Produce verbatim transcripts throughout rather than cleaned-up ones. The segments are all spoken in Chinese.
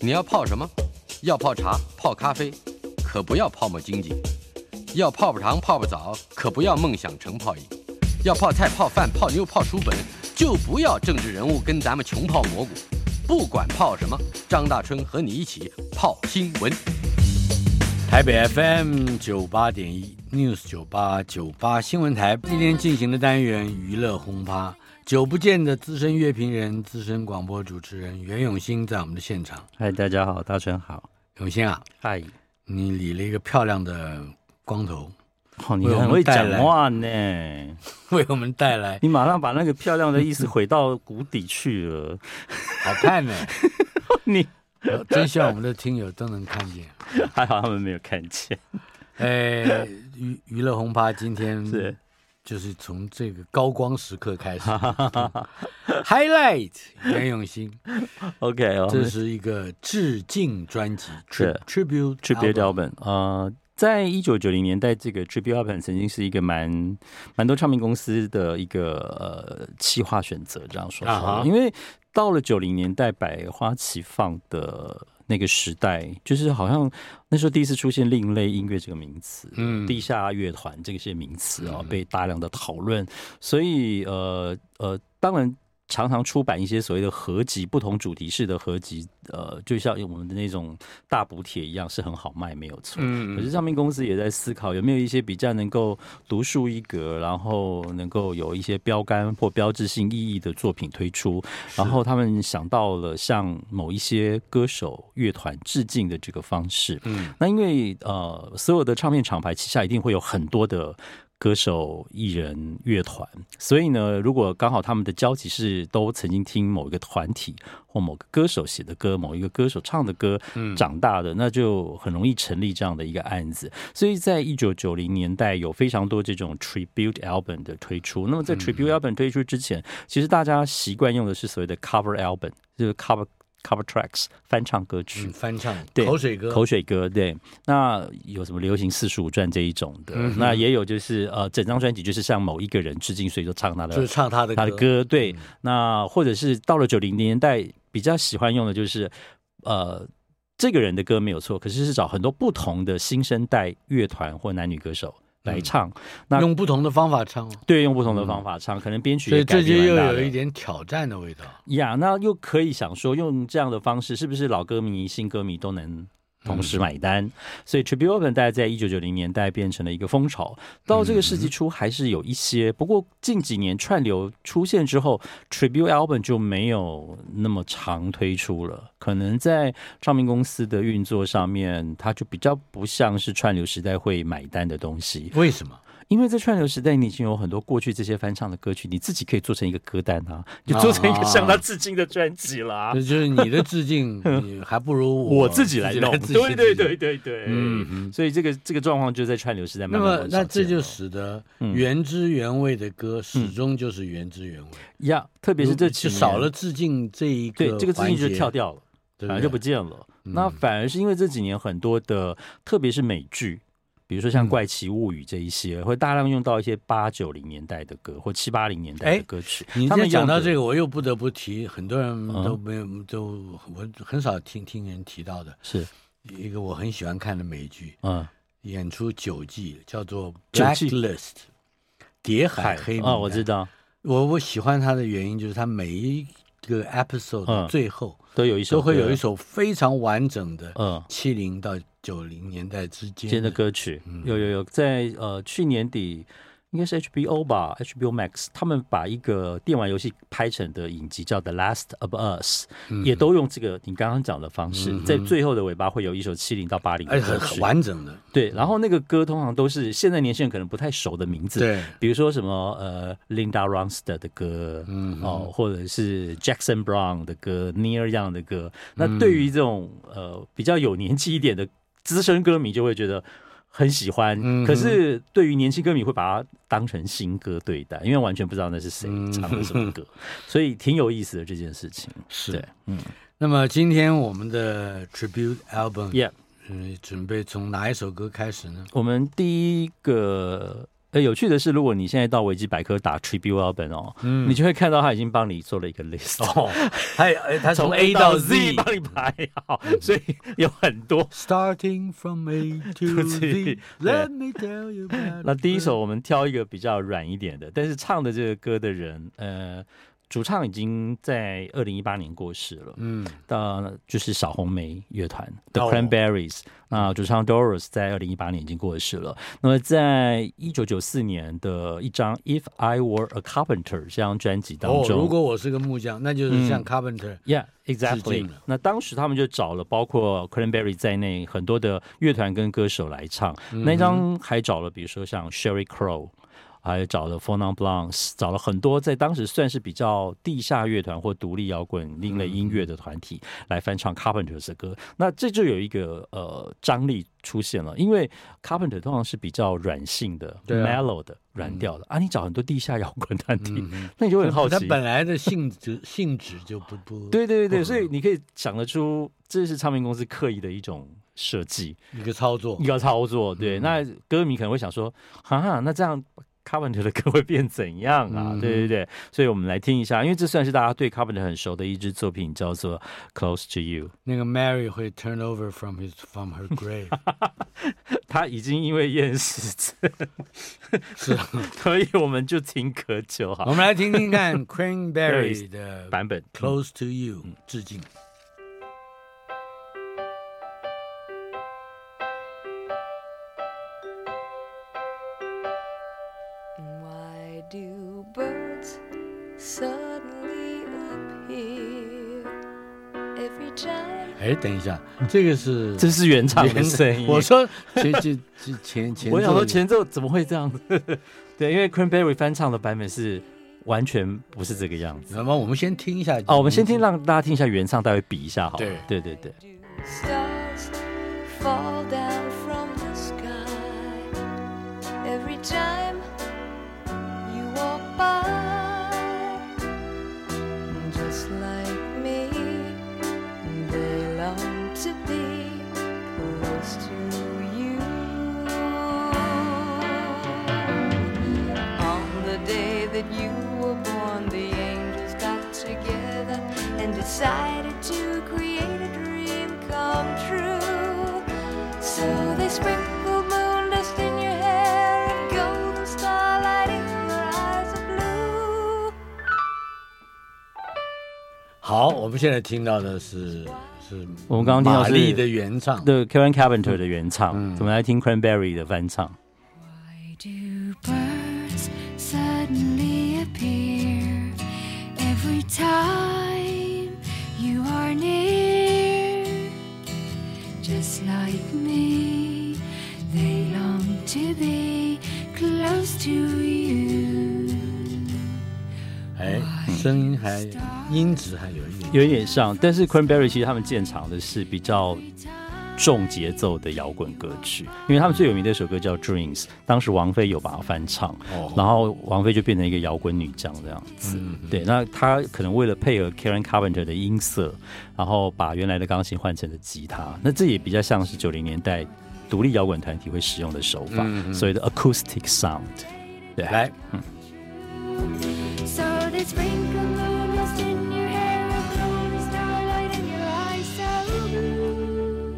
你要泡什麼？要泡茶、泡咖啡，可不要泡沫經濟；要泡泡糖、泡泡澡，可不要夢想成泡影；要泡菜、泡飯、泡妞、泡書本，就不要政治人物跟咱們窮泡蘑菇。不管泡什麼，張大春和你一起泡新聞。台北 F M 九八點一 News 九八九八新聞台今天進行的單元娛樂轟趴，久不見的資深樂評人、資深廣播主持人袁永新在我們的現場。 嗨，大家好，大春好。 永新啊， 嗨， 你理了一個漂亮的光頭， 哦，你很會講話呢， 為我們帶來， 你馬上把那個漂亮的意思回到谷底去了， 好看呢。 你真希望我們的聽友都能看見， 還好他們沒有看見。 哎，娛娛樂轟趴今天是就是從這個高光時刻開始，highlight 袁永新 ，OK 哦， 這是一個致敬專輯， 是 tribute tribute album，呃，在一九九零年代，這個 tribute album 曾經是一個蠻蠻多唱片公司的一個呃企劃選擇，這樣說好了，因為到了九零年代百花齊放的那個時代，就是好像那時候第一次出現另類音樂這個名詞，嗯，地下樂團這些名詞啊，被大量的討論，所以呃呃，當然常常出版一些所謂的合集，不同主題式的合集，呃，就像我們的那種大補帖一樣，是很好賣，沒有錯。嗯，可是唱片公司也在思考有沒有一些比較能夠獨樹一格，然後能夠有一些標杆或標誌性意義的作品推出。然後他們想到了向某一些歌手、樂團致敬的這個方式。嗯，那因為呃，所有的唱片廠牌旗下一定會有很多的歌手、藝人、樂團，所以呢，如果剛好他們的交集是都曾經聽某一個團體或某個歌手寫的歌、某一個歌手唱的歌長大的，嗯、那就很容易成立這樣的一個案子。所以在一九九零年代有非常多這種 tribute album 的推出。那麼在 tribute album 推出之前，嗯、其實大家習慣用的是所謂的 cover album， 就是 cover cover tracks 翻唱歌曲，嗯、翻唱對口水歌，口水歌對。那有什麼流行四十五轉這一種的，嗯、那也有就是呃整張專輯就是向某一個人致敬，所以就唱他的，就是唱他的歌他的歌對。嗯、那或者是到了九零年代比較喜歡用的就是呃這個人的歌沒有錯，可是是找很多不同的新生代樂團或男女歌手來唱，嗯、那用不同的方法唱，對，用不同的方法唱，嗯、可能編曲也改變，所以這就又有一點挑戰的味道呀。Yeah, 那又可以想說，用這樣的方式，是不是老歌迷、新歌迷都能同時買單？嗯、所以 tribute album 大概在一九九零年代變成了一個風潮，到這個世紀初還是有一些，嗯、不過近幾年串流出現之後 ，tribute album 就沒有那麼常推出了。可能在唱片公司的運作上面，它就比較不像是串流時代會買單的東西。為什麼？因為在串流時代，你已經有很多過去這些翻唱的歌曲，你自己可以做成一個歌單啊，就做成一個向他致敬的專輯啦。這、啊、就是你的致敬，你還不如我，我自己來弄。對對對對對，嗯，所以這個這個狀況就在串流時代慢慢。那麼，那這就使得原汁原味的歌始終就是原汁原味呀。嗯嗯、特別是這就少了致敬這一個，對，這個致敬就跳掉了，反而就不見了。嗯、那反而是因為這幾年很多的，特別是美劇。比如說像《怪奇物語》這一些，嗯、會大量用到一些八九零年代的歌或七八零年代的歌曲。你他們講到這個，我又不得不提，很多人都沒有，嗯、都我很少聽聽人提到的，是一個我很喜歡看的美劇，嗯，演出九季，叫做《Blacklist》諜海黑名單。啊、哦，我知道。我我喜歡它的原因就是它每一個 episode 的最後、嗯、都有一首，都會有一首非常完整的，嗯，七零到九零年代之間的歌曲，嗯、有有有，在呃去年底應該是 H B O 吧 ，H B O Max 他們把一個電玩遊戲拍成的影集叫《The Last of Us》，嗯、也都用這個你剛剛講的方式，嗯、在最後的尾巴會有一首七零到八零的歌曲，很完整的。對，然後那個歌通常都是現在年輕人可能不太熟的名字，對，比如說什麼呃 Linda Ronstadt 的歌，嗯哦，或者是 Jackson Brown 的歌 ，Neil Young 的歌。那對於這種呃比較有年紀一點的資深歌迷就會覺得很喜歡，嗯、可是對於年輕歌迷會把它當成新歌對待，因為完全不知道那是誰唱的什麼歌，嗯、所以挺有意思的這件事情。是，對嗯。那麼今天我們的 tribute album，Yeah， 嗯，準備從哪一首歌開始呢？我們第一個呃，有趣的是，如果你現在到維基百科打 tribute album 哦，嗯，你就會看到他已經幫你做了一個 list 哦，他他從 A 到 Z 幫你排好，所以有很多 starting from A to Z。Let me tell you about。 那第一首我們挑一個比較軟一點的，但是唱的這個歌的人，呃。主唱已經在二零一八年過世了，嗯，到就是小紅莓樂團 The Cranberries，那、哦、主唱 Doris 在二零一八年已經過世了。那麼在一九九四年的一張 If I Were a Carpenter 這張專輯當中， 哦，如果我是個木匠，那就是像 Carpenter， 嗯、，Yeah exactly。那當時他們就找了包括 Cranberry 在內很多的樂團跟歌手來唱，嗯、那張還找了比如說像 Sheryl Crow。還找了 Four Non Blondes， 找了很多在當時算是比較地下樂團或獨立搖滾另類音樂的團體來翻唱 Carpenter 的歌。那這就有一個呃張力出現了，因為 Carpenter 通常是比較軟性的、啊、mellow 的軟調的、嗯、啊，你找很多地下搖滾團體、嗯，那你就會很好奇， 它本來的性質性質就不不對對對對，所以你可以想得出，這是唱片公司刻意的一種設計， 一個操作， 一個操作。對，嗯、那歌迷可能會想說，哈哈，那這樣。Carpenter 的歌會變怎樣啊？嗯、對對對，所以我們來聽一下，因為這算是大家對 Carpenter 很熟的一支作品，叫做 Close to You。 那個 Mary 會 turn over from his from her grave， 他已經因為厭世症，是，所以我們就聽可久好。 我們來聽聽看 Cranberry 的版本 Close to You，、嗯、致敬。哎，等一下，這個是這是原唱的聲音。 我說前前前前， 我想說前奏怎麼會這樣子？對，因為 Cranberry 翻唱的版本是完全不是這個樣子。 那麼我們先聽一下哦，我們先聽，讓大家聽一下原唱，待會比一下好了。 對對對對。 That you were born, the angels got together and decided to create a dream come true. So they sprinkled moon dust in your hair and golden starlight in your eyes of blue. 好，我們現在聽到的是是我們剛剛聽到是瑪麗的原唱， 對 Karen Carpenter 的原唱，嗯、我們來聽 Cranberry 的翻唱。 Why do birds suddenly appear every time you are near? Just like me, they long to be close to you. 哎，聲音還音質還有一點有一點像，但是 Cranberry 其實他們建廠的是比較重節奏的搖滾歌曲，因為他們最有名的一首歌叫 Dreams， 當時王菲有把它翻唱，哦、然後王菲就變成一個搖滾女將這樣子。嗯、對，那她可能為了配合 Karen Carpenter 的音色，然後把原來的鋼琴換成了吉他，那這也比較像是九零年代獨立搖滾團體會使用的手法，嗯、所謂的 acoustic sound。對，來，嗯。So they sprinkle moon dust in your hair and golden starlight in your eyes so blue.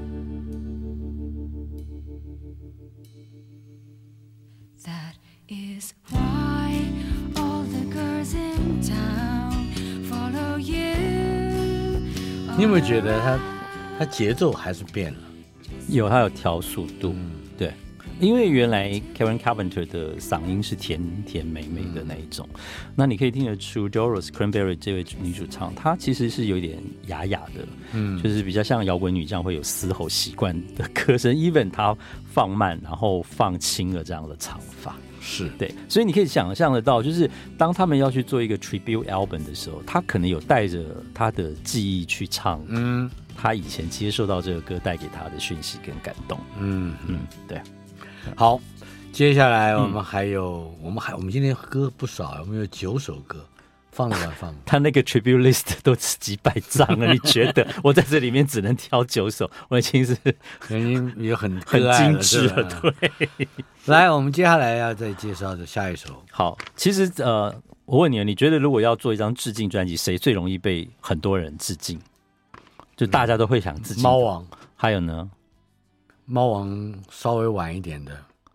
That is why all the girls in town follow you. 你有沒有覺得他他節奏還是變了？ 有，他有調速度，嗯、對。因為原來 Karen Carpenter 的嗓音是甜甜美美的那一種，嗯、那你可以聽得出 Doris Cranberry 這位女主唱，她其實是有點啞啞的，嗯，就是比較像搖滾女將會有嘶吼習慣的歌聲 ，even 她放慢然後放輕了這樣的唱法， 是對，所以你可以想象得到，就是當他們要去做一個 tribute album 的時候，他可能有帶着他的記憶去唱，嗯，他以前接受到這個歌帶給他的訊息跟感動，嗯嗯，對。 好，接下來我們還有，嗯、我們還我們今天歌不少，我們有九首歌， 放得完放不完？ 他那個 tribute list 都是幾百張了，你覺得我在這裡面只能挑九首，我已經是已經也很很精緻了。對， 來，我們接下來要再介紹的下一首。 好，其實呃，我問你，你覺得如果要做一張致敬專輯，誰最容易被很多人致敬？就大家都會想致敬。貓王，還有呢？ 貓王稍微晚一點的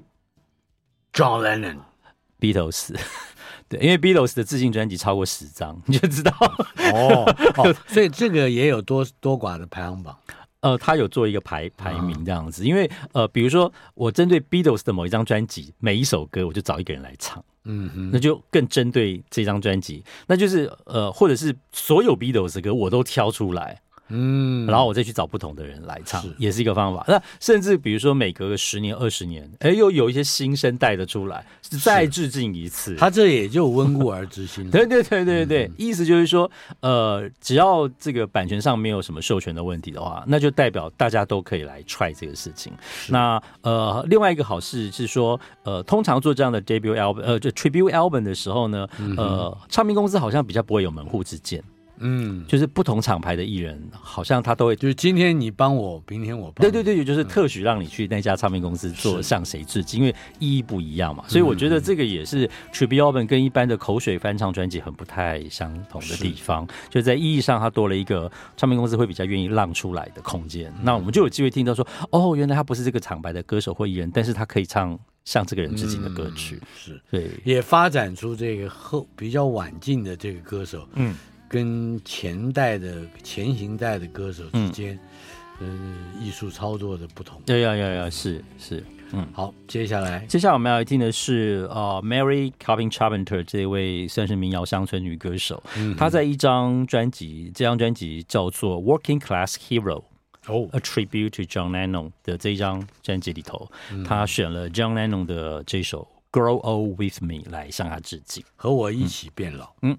，John Lennon、Beatles。對，因為 Beatles 的致敬專輯超過十張，你就知道哦哦，所以這個也有多多寡的排行榜。 呃，他有做一個排排名這樣子，嗯、因為呃，比如說我針對 Beatles 的某一張專輯，每一首歌我就找一個人來唱，嗯哼，那就更針對這張專輯，那就是呃，或者是所有 Beatles 的歌我都挑出來。嗯，然後我再去找不同的人來唱，是也是一個方法。那甚至比如說每隔個十年、二十年，哎，又有一些新生代的出來，再致敬一次。他這也就溫故而知新了。 對對對對對，嗯、意思就是說，呃，只要這個版權上沒有什麼授權的問題的話，那就代表大家都可以來 try 這個事情。那呃，另外一個好事是說，呃，通常做這樣的 debut album，呃，就 tribute album 的時候呢，嗯、呃，唱片公司好像比較不會有門戶之見。嗯，就是不同廠牌的藝人，好像他都會，就是今天你幫我，明天我幫對對对，就是特許讓你去那家唱片公司做向誰致敬，因為意義不一樣嘛。所以我覺得這個也是 tribute album 跟一般的口水翻唱專輯很不太相同的地方，就在意義上，它多了一個唱片公司會比較願意讓出來的空間。那我們就有機會聽到說，哦，原來他不是這個廠牌的歌手或藝人，但是他可以唱向這個人致敬的歌曲，嗯、 是對， 也發展出這個後比較晚進的這個歌手，嗯。跟前代的前行代的歌手之間，嗯，呃、藝術操作的不同。 對呀呀呀，是是，嗯， 好，接下來， 接下來我們要來聽的是呃 Mary Calvin Carpenter 這位算是民謠鄉村女歌手，嗯、她在一張專輯，這張專輯叫做 Working Class Hero，哦，A Tribute to John Lennon 的這一張專輯裡頭，嗯、她選了 John Lennon 的這首 Grow Old With Me 來向他致敬， 和我一起變老，嗯。嗯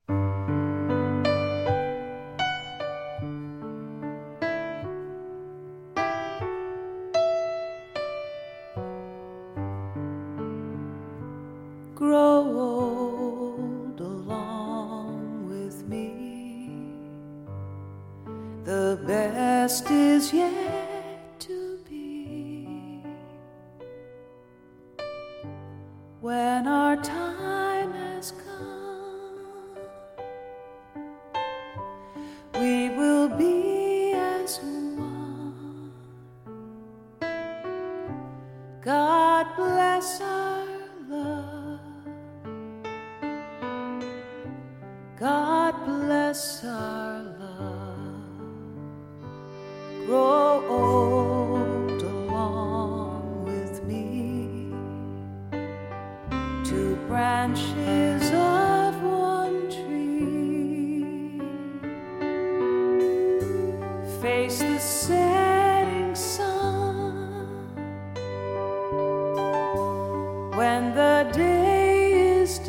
Grow old along with me. The best is yet to be. When our time has come, we will be as one. God bless our love.God bless our love. Grow old along with me. Two branches of one tree. Face the setting sun. When the day is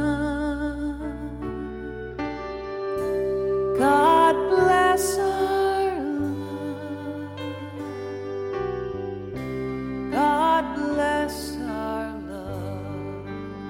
done.God bless our love. God bless our love.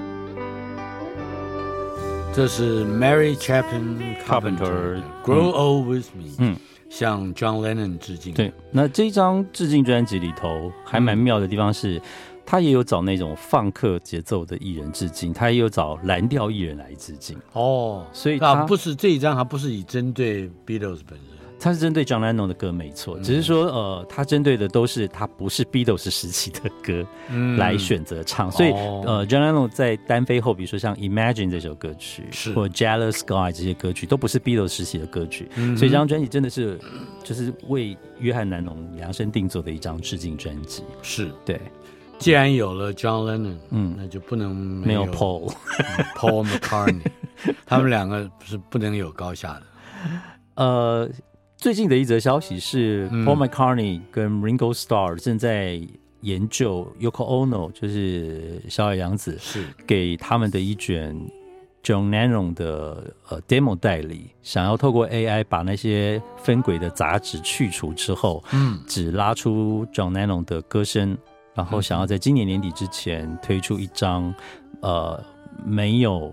這是 Mary Chapin Carpenter Grow Old With Me， 嗯，向 John Lennon 致敬。 對，那這張致敬專輯裡頭還蠻妙的地方是，他也有找那種放克節奏的藝人致敬，他也有找藍調藝人來致敬。哦，所以他不是這一張，他不是以針對 Beatles 本人， 他是針對 John Lennon 的歌，沒錯。只是說，呃，他針對的都是他不是 Beatles 時期的歌來選擇唱。嗯、所以，呃 ，John Lennon 在單飛後，比如說像 Imagine 這首歌曲，是或 Jealous Guy 這些歌曲，都不是 Beatles 時期的歌曲。嗯、所以，這張專輯真的是就是為約翰·南農量身定做的一張致敬專輯。 是對。 既然有了 John Lennon， 嗯，那就不能沒有 Paul Paul McCartney， 他們兩個是不能有高下的。 呃，最近的一則消息是、嗯、Paul McCartney 跟 Ringo Starr 正在研究 Yoko Ono， 就是小野洋子，是給他們的一卷 John Lennon 的呃 demo 代理，想要透過 A I 把那些分軌的雜質去除之後，嗯，只拉出 John Lennon 的歌聲。然後想要在今年年底之前推出一張，呃，沒有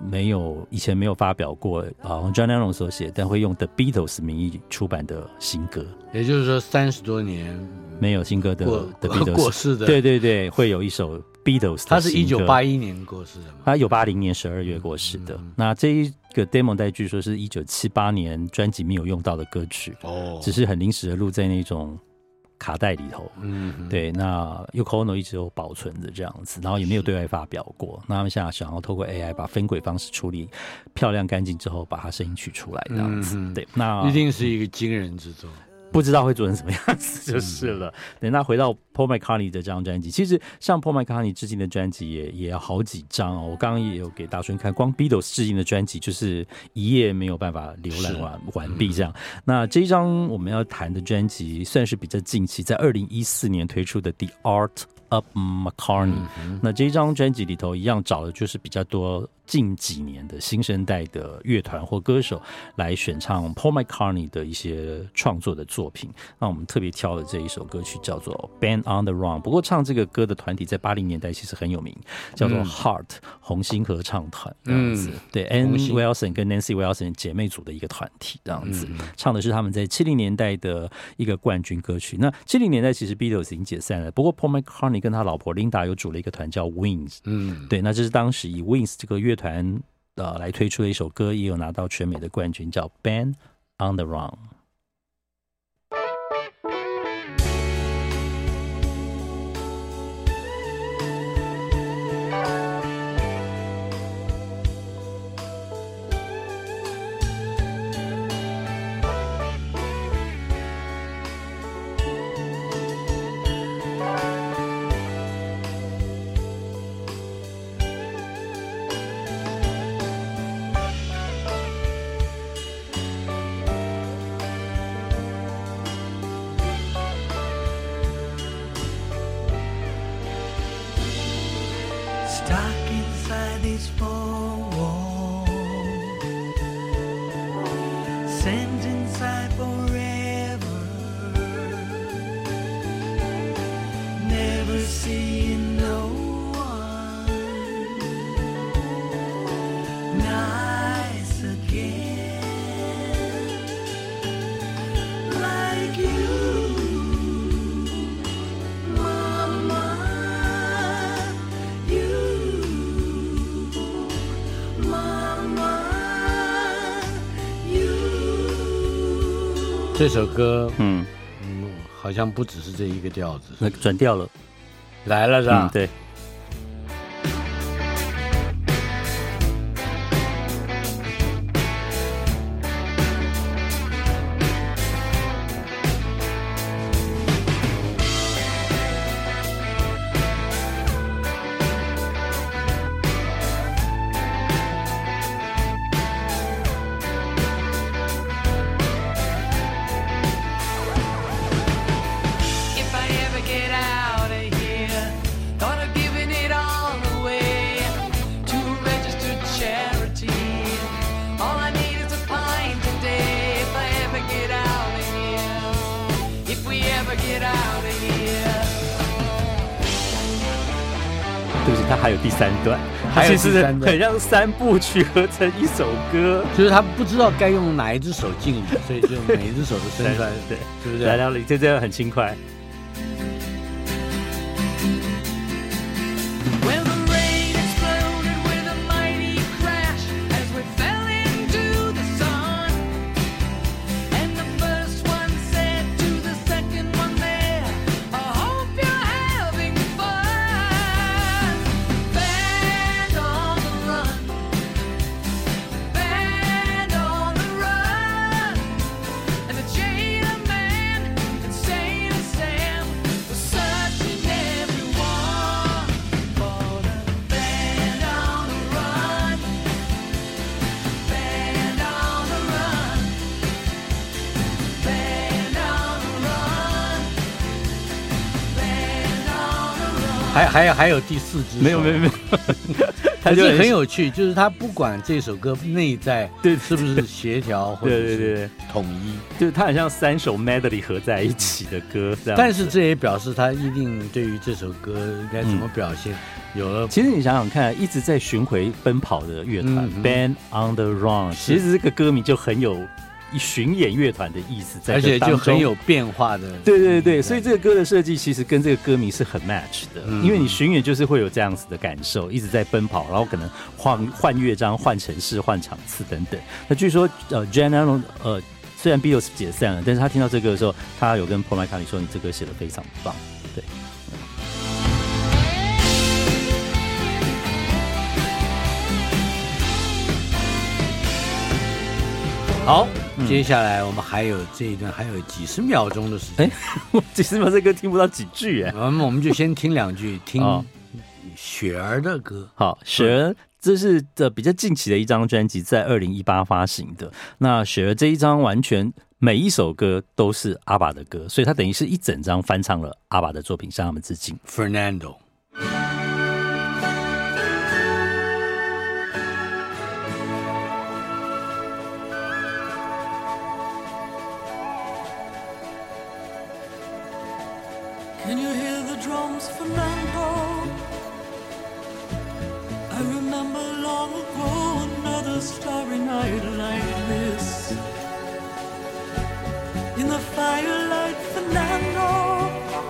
沒有以前沒有發表過啊 John Lennon 所寫，但會用 The Beatles 名義出版的新歌。 也就是說，三十多年沒有新歌的 The Beatles 過世的， 對對對，會有一首 Beatles 的新歌。 他是一九八一年過世的嗎？ 他一九八零年十二月過世的。嗯、那這一個 demo 帶據說是一九七八年專輯沒有用到的歌曲，哦，只是很臨時的錄在那種卡帶裡頭。嗯，對。那 Yoko Ono 一直有保存着這樣子，然後也沒有對外發表過。那他們現在想要透過 A I 把分軌方式處理漂亮乾淨之後，把它聲音取出來這樣子。嗯、對，那一定是一個驚人之作。 不知道會做成什麼樣子就是了。嗯、對，那回到 Paul McCartney 的這張專輯，其實像 Paul McCartney 致敬的專輯也也有好幾張哦。我剛剛也有給大春看，光 Beatles 致敬的專輯就是一頁沒有辦法瀏覽完完畢這樣。嗯、那這一張我們要談的專輯算是比較近期，在二零一四年推出的 The Art of McCartney。嗯、那這一張專輯裡頭一樣找的就是比較多近幾年的新生代的樂團或歌手來選唱 Paul McCartney 的一些創作的作品。那我們特別挑的這一首歌曲叫做 Band on the Run。不過唱這個歌的團體在八零年代其實很有名，叫做 Heart、嗯、紅星合唱團這樣子。嗯、對 ，Ann Wilson 跟 Nancy Wilson 姐妹組的一個團體這樣子，嗯、唱的是他們在七零年代的一個冠軍歌曲。那七零年代其實 Beatles 已經解散了，不過 Paul McCartney 跟他老婆 Linda 有組了一個團叫 Wings。嗯，對，那這是當時以 Wings 這個樂團呃來推出的一首歌，也有拿到全美的冠軍，叫 Band on the Run。 這首歌，嗯嗯，好像不只是這一個調子， 那轉調了， 來了是吧？ 嗯、對。对不起，它還有第三段，它其實很像三部曲合成一首歌， 就是他不知道該用哪一隻手敬禮，所以就每一隻手都伸出來， 對， 對不對？ 來到了，這這樣很輕快。 還還有還有第四支， 沒有沒有沒有， 它就很有趣，就是他不管這首歌內在對是不是協調或者是統一， 就是它很像三首 medley 合在一起的歌， 但是這也表示他一定對於這首歌應該怎麼表現， 有了。 其實你想想看，一直在巡迴奔跑的樂團、嗯、Band on the Run， 其實這個歌名就很有巡演樂團的意思在， 而且就很有變化的。 對對對，所以這個歌的設計其實跟這個歌名是很 match 的，嗯、因為你巡演就是會有這樣子的感受，一直在奔跑，然後可能換換樂章、換城市、換場次等等。那據說呃 John Lennon 呃。雖然 Beatles 解散了，但是他聽到這個的時候，他有跟 Paul McCartney 說：“你這歌寫得非常棒。”對。 好，嗯、接下來我們還有這一段，還有幾十秒鐘的時間。 哎，幾十秒這歌聽不到幾句哎。 我們我們就先聽兩句，聽雪兒的歌。 好，雪兒。這是的比較近期的一張專輯，在二零一八發行的。那雪兒這一張完全每一首歌都是阿爸的歌，所以他等於是一整張翻唱了阿爸的作品，向他們致敬。 Fernando。 Can you hear the drums, Fernando? I remember long ago another starry night like this. In the firelight, Fernando,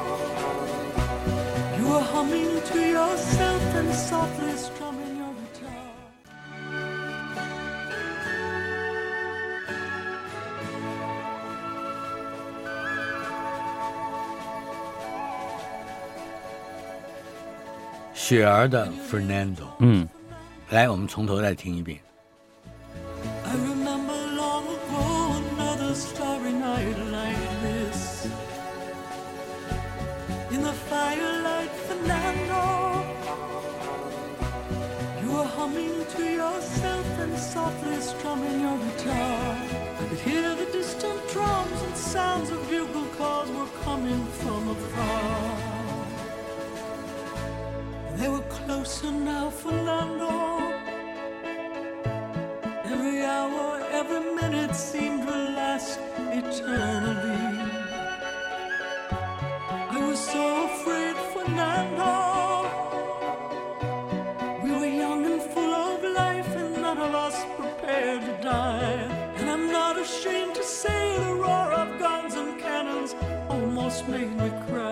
you were humming to yourself and softly strumming your guitar. 雪兒的 Fernando， 嗯，来，我们從頭再聽一遍。 I remember long ago another starry night like this. In the firelight, Fernando, you were humming to yourself and softly strumming your guitar. I could hear the distant drums and sounds of bugle calls were coming from afar.They were closer now, Fernando. Every hour, every minute seemed to last eternally. I was so afraid, Fernando. We were young and full of life, and none of us prepared to die. And I'm not ashamed to say the roar of guns and cannons almost made me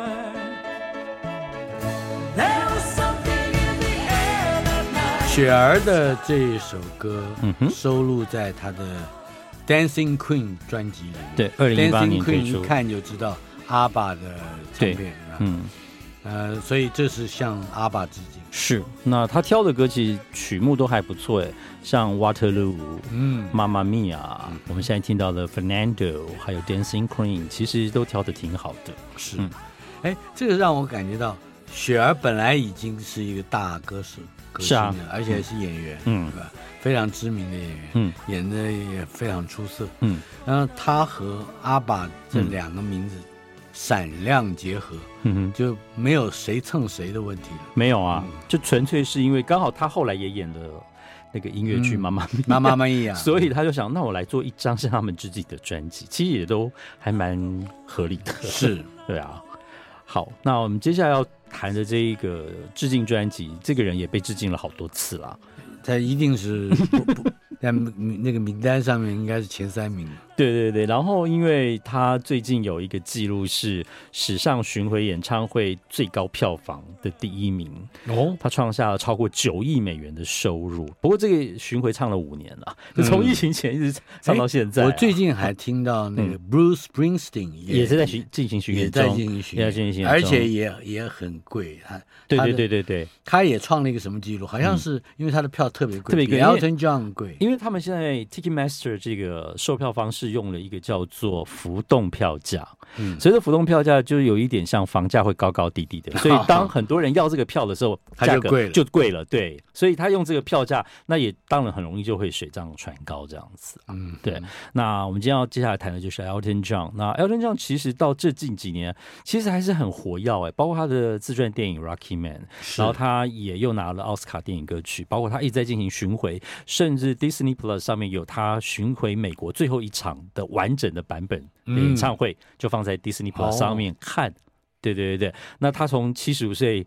cry.There was something in the air that night. 雪兒的這一首歌，嗯哼，收錄在他的 Dancing Queen 專輯裡。 對，二零一八年推出。 Dancing Queen 一看就知道阿爸的唱片，嗯，呃，所以這是向阿爸致敬。 是，那他挑的歌其實曲目都還不錯，哎，像 Waterloo， 嗯，媽媽咪呀，我們現在聽到的 Fernando， 還有 Dancing Queen， 其實都挑的挺好的。 是，哎、嗯，這個讓我感覺到。雪兒本來已經是一個大歌手，歌星了，啊、而且是演員，嗯，對吧？非常知名的演員，嗯，演的也非常出色，嗯。然後他和阿爸這兩個名字閃亮結合，嗯，就沒有誰蹭誰的問題了。 沒有啊，嗯、就純粹是因為剛好他後來也演了那個音樂劇《媽媽咪》， 媽媽咪呀， 所以他就想，那我來做一張向他們致敬的專輯，其實也都還蠻合理的。 是， 對啊。好，那我們接下來要談的這一個致敬專輯，這個人也被致敬了好多次啦。 他一定是不不在那個名單上面應該是前三名。 對對對，然後因為他最近有一個記錄是史上巡迴演唱會最高票房的第一名哦，他創下了超過九億美元的收入。不過這個巡迴唱了五年了，就從疫情前一直唱到現在、啊嗯。 我最近還聽到那個 Bruce Springsteen 也、嗯、也是在進行巡演中，也在進行巡演，也在進行巡演， 而且也也很貴。他對對對對對， 他也創了一個什麼記錄？好像是因為他的票特別貴，特別貴，比 Elton John 貴。 因為他們現在 Ticketmaster 這個售票方式用了一個叫做浮動票價，嗯，所以說浮動票價就有一點像房價會高高低低的，所以當很多人要這個票的時候，價格就貴了，對，所以他用這個票價，那也當然很容易就會水漲船高這樣子，嗯，對。那我們今天要接下來談的就是 Elton John， 那 Elton John 其實到這近幾年其實還是很活躍哎，包括他的自傳電影 Rocky Man， 然後他也又拿了奧斯卡電影歌曲，包括他一直在進行巡迴，甚至 Disney Plus 上面有他巡迴美國最後一場的完整的版本的演唱會，就放在 Disney Plus 上面看。嗯、對對對對，那他從七十五歲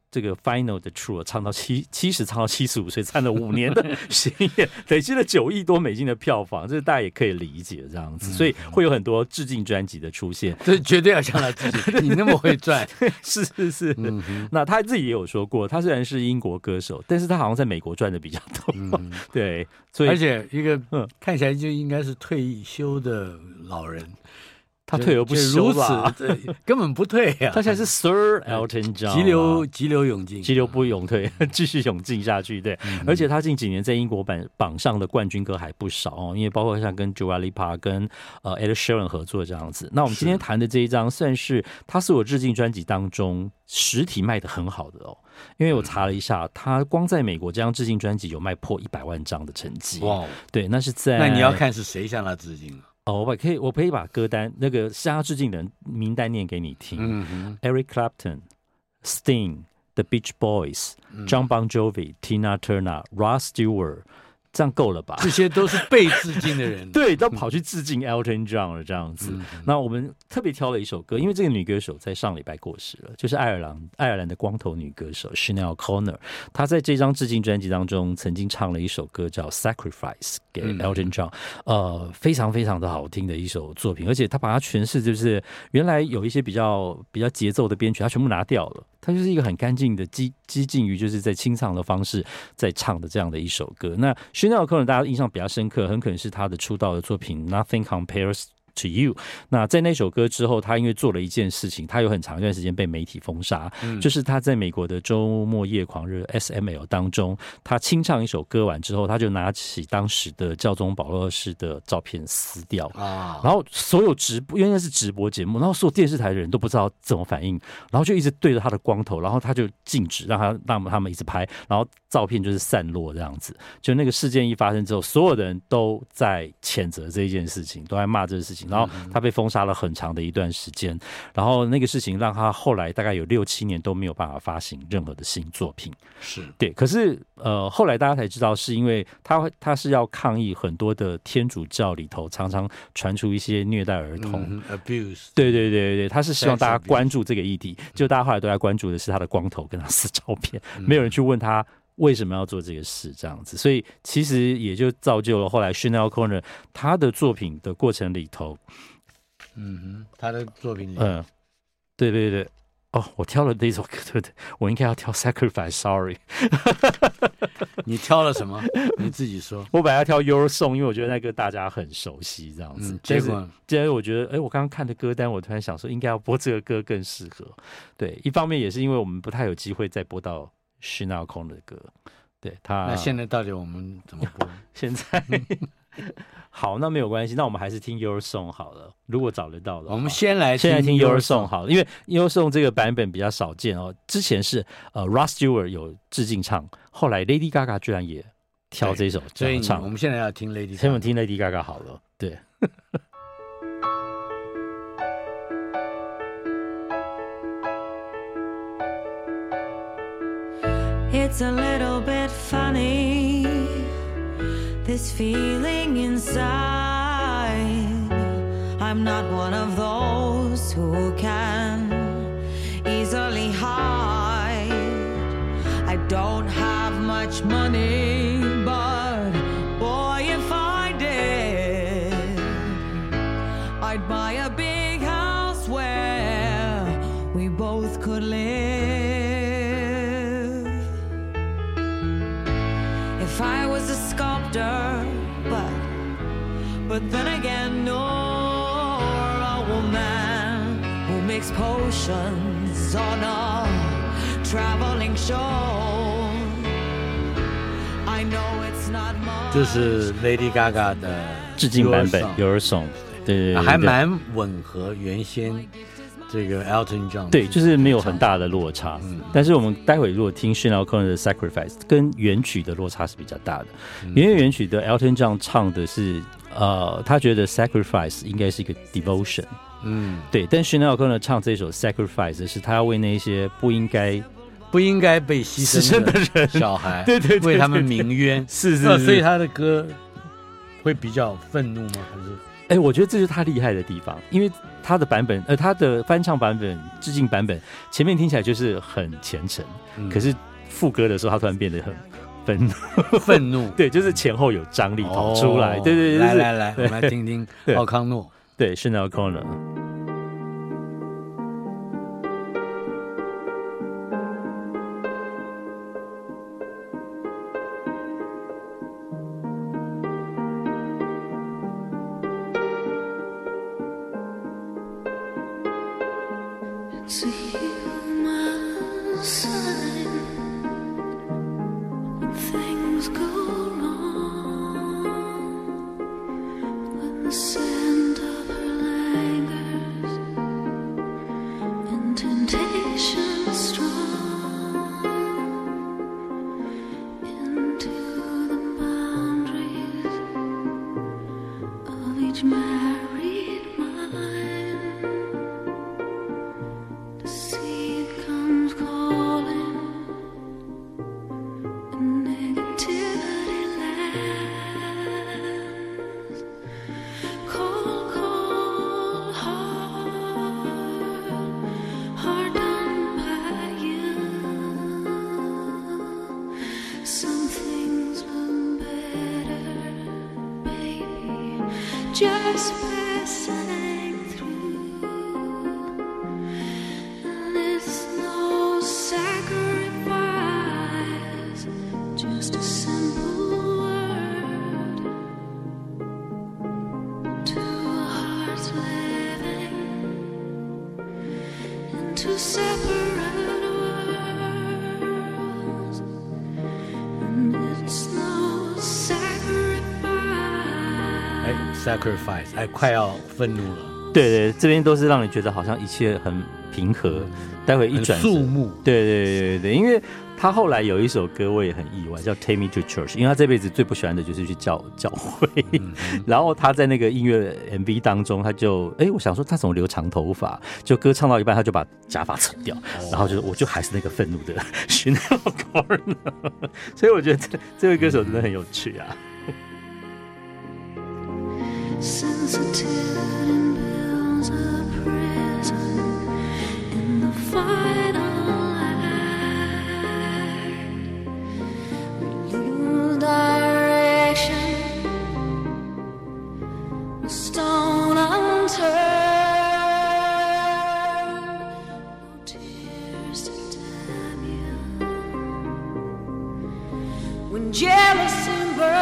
這個 Final 的 True 唱到七七十，唱到七十五歲，唱了五年的巡演，累積了九億多美金的票房，這大家也可以理解這樣子，所以會有很多致敬專輯的出現。 這絕對要向他致敬，你那麼會賺， 是是是。 嗯、 那他自己也有說過，他雖然是英國歌手，但是他好像在美國賺的比較多。嗯、對，所以而且一個看起來就應該是退休的老人。 他退而不休吧， 對，根本不退呀、啊。 他現在是 Sir Elton John， 急流急流勇進， 急流不勇退，繼續勇進下去。對，嗯、而且他近幾年在英國榜榜上的冠軍歌還不少哦，因為包括像跟 Dua Lipa 跟呃 Ed Sheeran 合作這樣子。那我們今天談的這一張，算是他是我致敬專輯當中實體賣的很好的哦，因為我查了一下，他光在美國這張致敬專輯有賣破一百萬張的成績。哇，對，那是在那你要看是誰向他致敬。 哦，我可以，我可以把歌單那個向他致敬的人名單念給你聽。嗯哼 Eric Clapton、Sting、The Beach Boys、John Bon Jovi、Tina Turner、Rod Stewart。這樣夠了吧？ 這些都是被致敬的人， 對，都跑去致敬 Elton John 了，這樣子。嗯、那我們特別挑了一首歌，因為這個女歌手在上禮拜過世了，就是愛爾蘭愛爾蘭的光頭女歌手 Sinead O'Connor。她在這張致敬專輯當中，曾經唱了一首歌叫《Sacrifice》給 Elton John，、嗯、呃，非常非常的好聽的一首作品，而且她把它詮釋，就是原來有一些比較比較節奏的編曲，她全部拿掉了。它就是一個很乾淨的激激進於就是在清唱的方式在唱的這樣的一首歌。那Sinead O'Connor大家印象比較深刻，很可能是他的出道的作品 Nothing Compares to You。 那在那首歌之後，他因為做了一件事情，他有很長一段時間被媒体封殺、嗯、就是他在美國的周末夜狂熱 S M L 當中，他清唱一首歌完之後，他就拿起當時的教宗保祿二世的照片撕掉、啊、然後所有直播，因為那是直播節目，然後所有電視台的人都不知道怎麼反應，然後就一直對着他的光頭，然後他就禁止讓他讓他們一直拍，然後照片就是散落這樣子。就那個事件一發生之後，所有的人都在譴責這一件事情，都在罵這個事情，然後他被封殺了很長的一段時間，然後那個事情讓他後來大概有六七年都沒有辦法發行任何的新作品。 是對，可是呃後來大家才知道，是因為他他是要抗議很多的天主教裡頭常常傳出一些虐待兒童、嗯、 abuse。 對對對對，他是希望大家關注這個議題，就大家後來都在關注的是他的光頭跟他撕照片，沒有人去問他為什麼要做這個事這樣子，所以其實也就造就了後來 Sinead O'Connor 他的作品的過程裡頭， 嗯哼，他的作品裡， 嗯，對對對，哦，我挑了這首歌，對不對？我應該要挑 Sacrifice，Sorry， 你挑了什麼？你自己說。 我本來要挑 Your Song， 因為我覺得那個大家很熟悉這樣子。嗯、結果，既然我覺得，哎，我剛剛看的歌單，我突然想說，應該要播這個歌更適合。對，一方面也是因為我們不太有機會再播到Sinead O'Connor的歌，對他。 那現在到底我們怎麼播？ 現在好，那沒有關係，那我們還是聽 Your Song 好了。如果找得到的話， 我們先來現在聽 Your Song 好了，因為 Your Song 這個版本比較少見哦。之前是呃 Rod Stewart 有致敬唱，後來 Lady Gaga 居然也挑這首這樣唱。 我們現在要聽 Lady Gaga， 先我們聽 Lady Gaga 好了，對。 It's a little bit funny, this feeling inside. I'm not one of those who can easily hide. I don't have much money, but boy, if I did, I'd buy a big house where we both could live.If I was a sculptor, but but then again, nor a woman who makes potions on a traveling show. I know it's not much. 这是 Lady Gaga 的致敬版本 Your Song， 对对对， 还蛮吻合原先这個 Elton John 對，就是沒有很大的落差。嗯，但是我們待會如果聽 Sinead O'Connor 的 Sacrifice， 跟原曲的落差是比較大的。嗯、因為原曲的 Elton John 唱的是，呃，他覺得 Sacrifice 應該是一個 devotion。嗯，對。但 Sinead O'Connor 唱這首 Sacrifice 是他要為那些不應該不應該被犧牲的人小孩，對對，為他們鳴冤。是是是，所以他的歌會比較憤怒嗎？還是？ 哎、欸，我覺得這就是他厲害的地方，因為他的版本，呃，他的翻唱版本、致敬版本，前面聽起來就是很虔誠，嗯、可是副歌的時候，他突然變得很憤怒， 憤怒， 對，就是前後有張力跑出來，哦、對，對對對， 來來來，我們來聽聽奧康諾， 對 Sinéad O'Connor。 It's a human sign when things go wrong, when the scent of her lingers and temptation strong into the boundaries of each married mind. Just passing through, and it's no sacrifice, just a simple word. Two hearts living in two separate worlds, and it's no sacrifice.Sacrifice， 哎，快要愤怒了。 对对，這邊都是讓你覺得好像一切很平和，待會一轉肅穆。 對對對對對，因為他後來有一首歌我也很意外，叫《Take Me to Church》，因為他這輩子最不喜歡的就是去教教會。嗯、然後他在那個音樂 M V 當中，他就哎，我想說他怎麼留長頭髮？就歌唱到一半，他就把假髮扯掉，哦、然後就我就還是那個憤怒的 Sinéad O'Connor。所以我覺得這這位歌手真的很有趣啊。 Sensitivity builds a prison in the final act. We lose direction, a stone unturned, no tears to damn you. When jealousy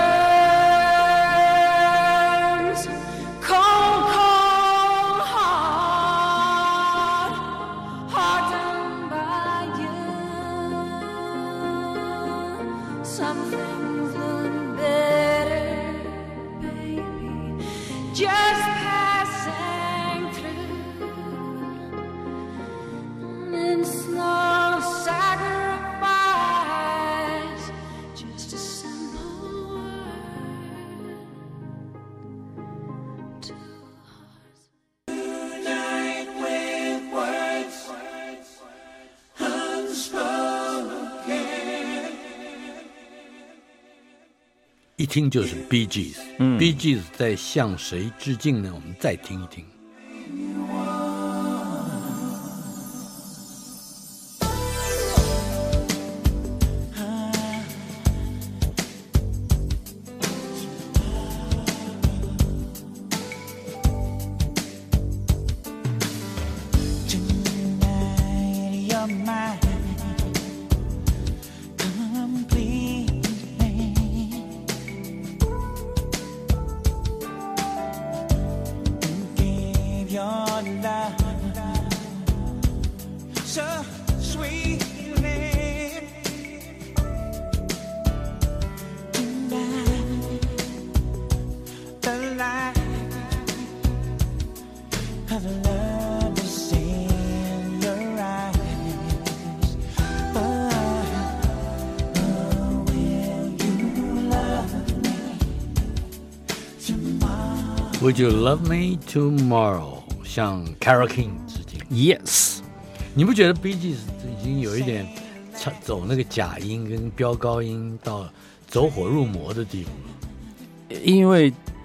burns. 一聽就是 Bee Gees， 嗯 Bee Gees 在向誰致敬呢？我們再聽一聽。Would you love me tomorrow？ 向 Carole King 致敬。 Yes， 你不覺得 Bee Gees 已經有一點走那個假音跟飆高音到走火入魔的地步了？ 因為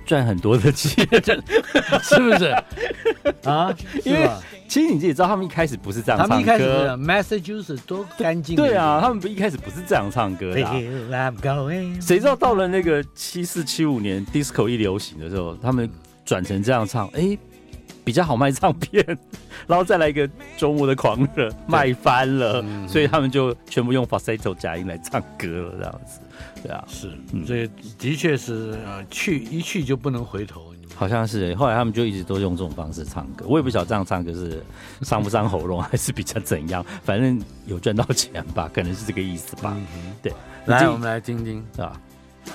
賺很多的錢， 是不是？啊， 因為其實你自己知道，他們一開始不是這樣唱歌。他們一開始 Massachusetts 多乾淨。 對啊，他們一開始不是這樣唱歌的、啊。誰知道到了那個七四七五年 disco 一流行的時候，他們轉成這樣唱，哎、欸，比較好賣唱片，然後再來一個周末的狂熱，賣翻了、嗯，所以他們就全部用 falsetto 假音來唱歌了，這樣子。對啊， 是，所以的確是呃，去一去就不能回頭。 好像是，後來他們就一直都用這種方式唱歌。我也不曉得這樣唱歌是傷不傷喉嚨，還是比較怎樣，反正有賺到錢吧，可能是這個意思吧。嗯、對， 來，我們來聽聽，是吧？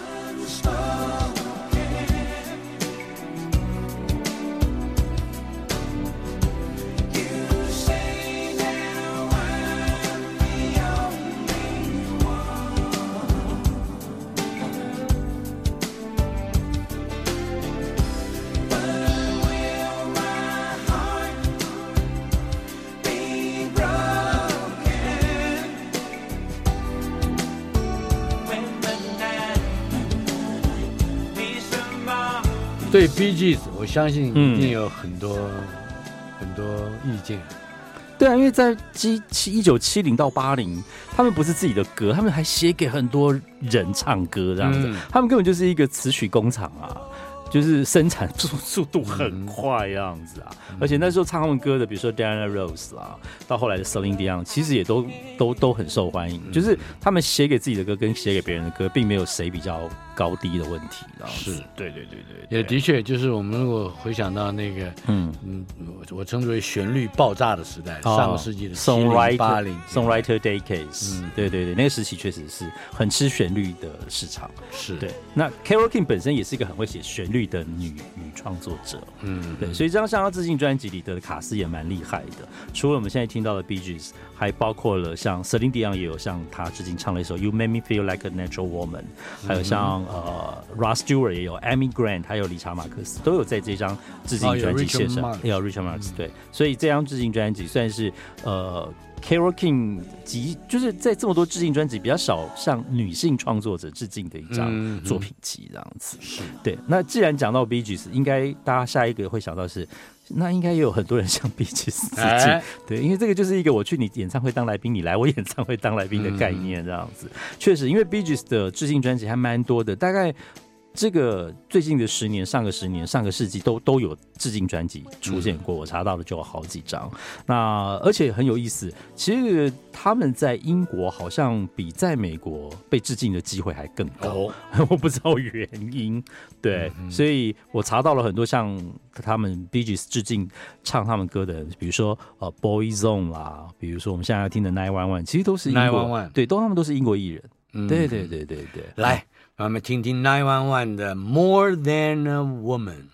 對 Bee Gees 我相信一定有很多、嗯、很多意見。 對啊，因為在一九七零到八零，他們不是自己的歌，他們還寫給很多人唱歌這樣子、嗯，他們根本就是一個詞曲工厂啊。就是生產速速度很快這樣子啊、嗯，而且那時候唱他們歌的，比如說 Diana Ross 啦，到後來的 Celine Dion， 其實也都都都很受歡迎。嗯、就是他們寫給自己的歌跟寫給別人的歌，並沒有誰比較高低的問題。 是， 對對對對， 也的確，就是我們如果回想到那個，嗯嗯，我稱之為旋律爆炸的時代，哦、上個世紀的七零八零 Songwriter Decades，嗯，對對對，那個時期確實是很吃旋律的市場。 是對。那 Carole King 本身也是一個很會寫旋律的女女創作者，嗯，對，所以這張向她致敬專輯裡的卡司也蠻厲害的。除了我們現在聽到的 Bee Gees， 還包括了像 Celine Dion 也有向她致敬唱了一首 You Make Me Feel Like a Natural Woman， 還有像、嗯、呃 Rod Stewart 也有 Amy Grant， 還有理查馬克思都有在這張致敬專輯獻上，也有 Richard Marx， 對，所以這張致敬專輯算是呃。Carole King 集就是在這麼多致敬專輯比較少向女性創作者致敬的一張作品集，這樣子。是、嗯、對。那既然講到 Bee Gees， 應該大家下一個會想到是，那應該也有很多人向 Bee Gees 致敬、欸。對，因為這個就是一個我去你演唱會當來賓，你來我演唱會當來賓的概念，這樣子。確、嗯、實，因為 Bee Gees 的致敬專輯還蠻多的，大概。這個最近的十年、上個十年、上個世紀都都有致敬專輯出現過，我查到的就有好幾張。那而且很有意思，其實他們在英國好像比在美國被致敬的機會還更高，哦、我不知道原因。對、嗯，所以我查到了很多像他們 Bee Gees 致敬唱他們歌的人，比如說呃 Boyzone 啦，比如說我們現在要聽的nine one one，其實都是英國 nine one one，對， 都他們都是英國藝人。嗯、對對對對對， 來。讓我們聽聽nine one one的 More Than a Woman。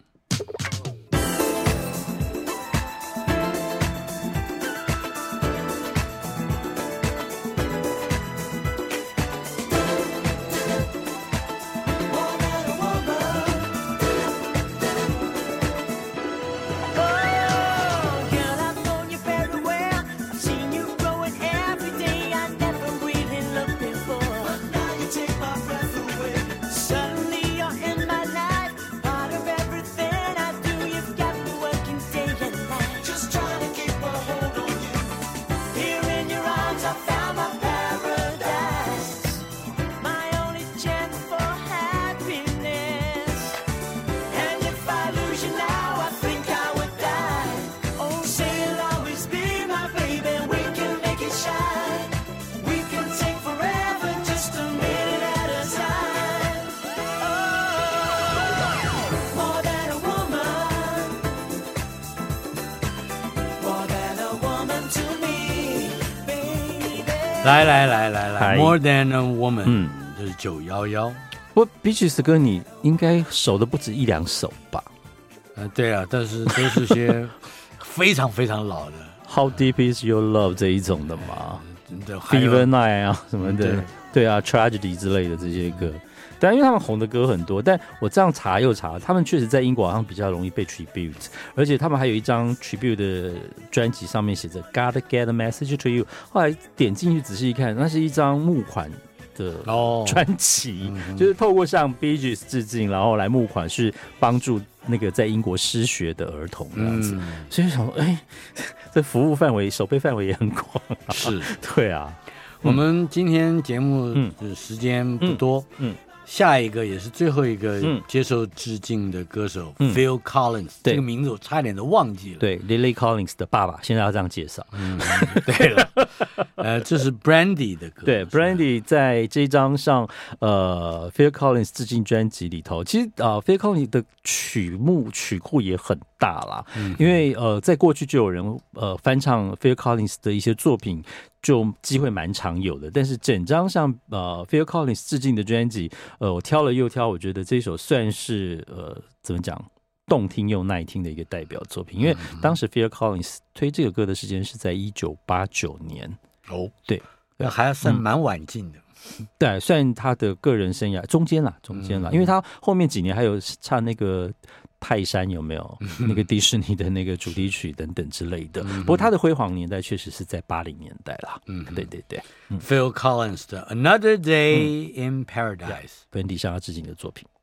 來來來來來 ，More Than a Woman， 嗯，這是九一一。 不過 Bee Gees 歌你應該熟的不止一兩首吧？ 呃，對啊，但是都是些非常非常老的 ，How Deep Is Your Love 這一種的嘛，呃、Fever Night 啊什麼的，對，對啊 ，Tragedy 之類的這些歌。但因為他們紅的歌很多，但我這樣查又查，他們確實在英國好像比較容易被 tribute， 而且他們還有一張 tribute 的專輯，上面寫着 Gotta Get a Message to You。後來點進去仔細一看，那是一張木款的專輯，哦嗯、就是透過向 Bee Gees 致敬，然後來募款，是幫助那個在英國失學的兒童這樣子。嗯、所以想說，哎、欸，這服務範圍、守備範圍也很廣、啊。 是， 對啊。 我們今天節目的時間不多，嗯。嗯嗯下一個也是最後一個接受致敬的歌手、嗯、Phil Collins，、嗯、這個名字我差點都忘記了。 對 ，Lily Collins 的爸爸，現在要這樣介紹。 嗯，對了，呃，這是 Brandy 的歌。 對 ，Brandy 在這張上呃 Phil Collins 致敬專輯裡頭，其實呃 Phil Collins 的曲目曲庫也很大啦，嗯、因為呃在過去就有人呃翻唱 Phil Collins 的一些作品。就機會蠻常有的，但是整張像呃 Phil Collins 致敬的專輯，呃，我挑了又挑，我覺得這首算是呃怎麼講，動聽又耐聽的一個代表作品。因為當時 Phil Collins 推這個歌的時間是在一九八九年哦， 對， 那還算蠻晚近的， 嗯、對，算他的個人生涯中間啦，中間啦，嗯、因為他後面幾年還有唱那個。泰山有沒有那個迪士尼的那個主題曲等等之類的？嗯、不過他的輝煌年代確實是在八零年代啦。嗯，對對對。嗯、 Phil Collins 的 Another Day in Paradise， Brandy向他致敬的作品。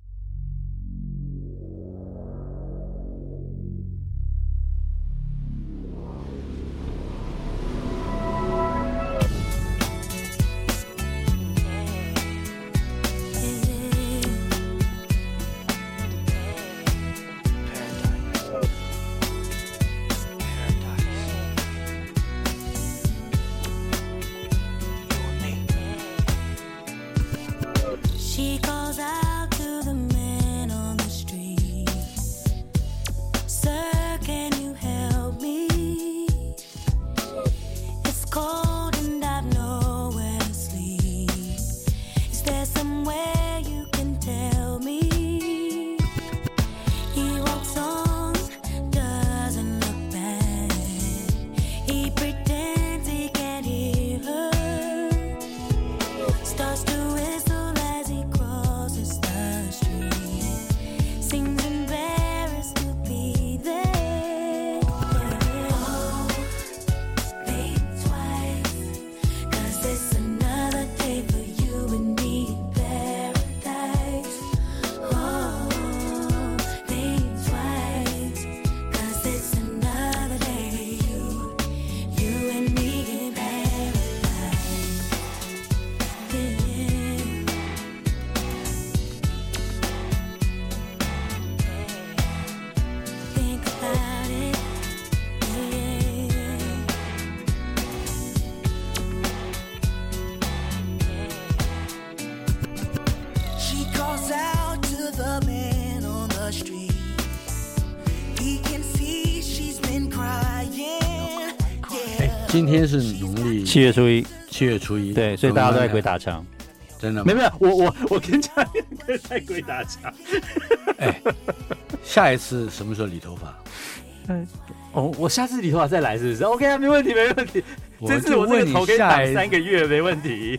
今天是農曆七月初一， 七月初一， 對，所以大家都在鬼打牆， 真的嗎？ 沒有沒有，我我我跟家人哥在鬼打牆。 哎，下一次什麼時候理頭髮？ 嗯，哦，我下次理頭髮再來是不是 ？OK 啊，沒問題，沒問題。這次我這個頭可以擋三個月，沒問題。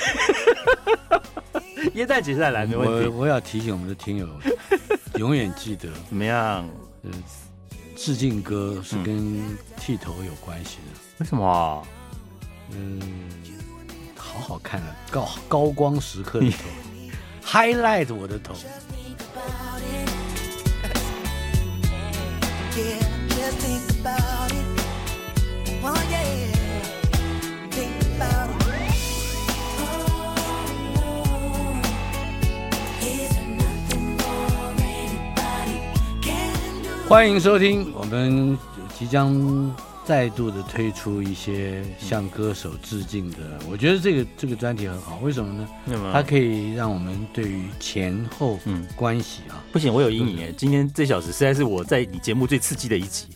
耶誕節再來沒問題。 我我要提醒我們的聽友，永遠記得怎麼樣？ 嗯，致敬歌是跟剃頭有關係的。 為什麼、啊？ 嗯，好好看啊，高高光時刻的頭，highlight 我的頭。歡迎收聽，我們即將再度的推出一些向歌手致敬的，嗯、我覺得這個這個專題很好，為什麼呢？嗯、它可以讓我們對於前後關係啊、嗯， 不行，我有陰影耶。今天這小時實在是我在你節目最刺激的一集。